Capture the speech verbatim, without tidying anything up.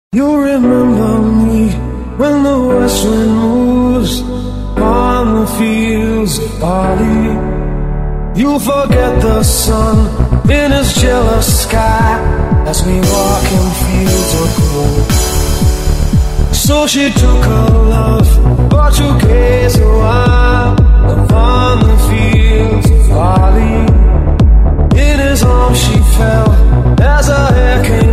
You remember me when the west wind moves on the fields of barley. You'll forget the sun in his jealous sky as we walk in fields of gold. So she took her love, but you gaze a while upon the fields of barley. In his arms she fell as her hair came